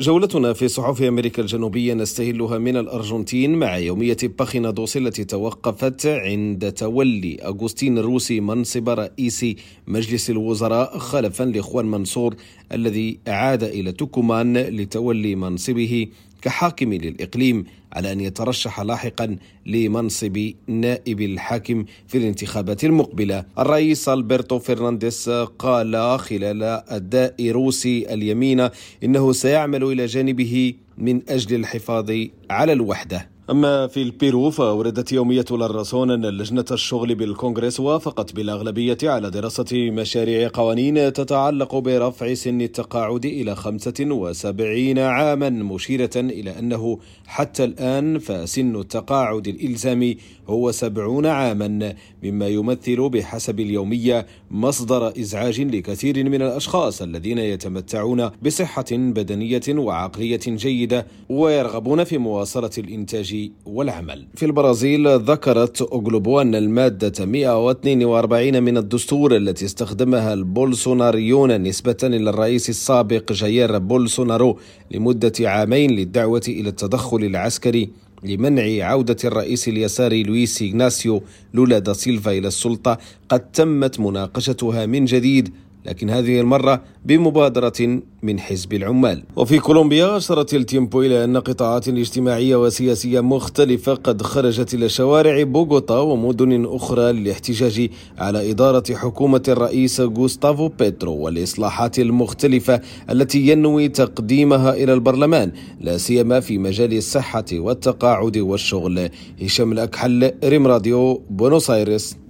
جولتنا في صحف أمريكا الجنوبية نستهلها من الأرجنتين مع يومية باخينادوس التي توقفت عند تولي أغوستين الروسي منصب رئيس مجلس الوزراء خلفا لإخوان منصور الذي عاد إلى توكومان لتولي منصبه كحاكم للإقليم، على أن يترشح لاحقا لمنصب نائب الحاكم في الانتخابات المقبلة. الرئيس ألبرتو فرنانديز قال خلال أداء روسي اليمين إنه سيعمل إلى جانبه من أجل الحفاظ على الوحدة. أما في البيرو فأوردت يومية للرسون أن لجنة الشغل بالكونغرس وافقت بالأغلبية على دراسة مشاريع قوانين تتعلق برفع سن التقاعد إلى 75 عاما، مشيرة إلى أنه حتى الآن فسن التقاعد الإلزامي هو 70 عاما، مما يمثل بحسب اليومية مصدر إزعاج لكثير من الأشخاص الذين يتمتعون بصحة بدنية وعقلية جيدة ويرغبون في مواصلة الإنتاج والعمل. في البرازيل ذكرت أوغلوبو أن المادة 142 من الدستور التي استخدمها البولسوناريون نسبة إلى الرئيس السابق جاير بولسونارو لمدة عامين للدعوة إلى التدخل العسكري لمنع عودة الرئيس اليساري لويس إغناسيو لولا دا سيلفا إلى السلطة قد تمت مناقشتها من جديد، لكن هذه المرة بمبادرة من حزب العمال. وفي كولومبيا أشارت التيمبو إلى أن قطاعات اجتماعية وسياسية مختلفة قد خرجت إلى شوارع بوغوتا ومدن أخرى للاحتجاج على إدارة حكومة الرئيس غوستافو بيترو والإصلاحات المختلفة التي ينوي تقديمها إلى البرلمان، لا سيما في مجال الصحة والتقاعد والشغل. هشام الأكحل، ريم راديو، بونوس آيرس.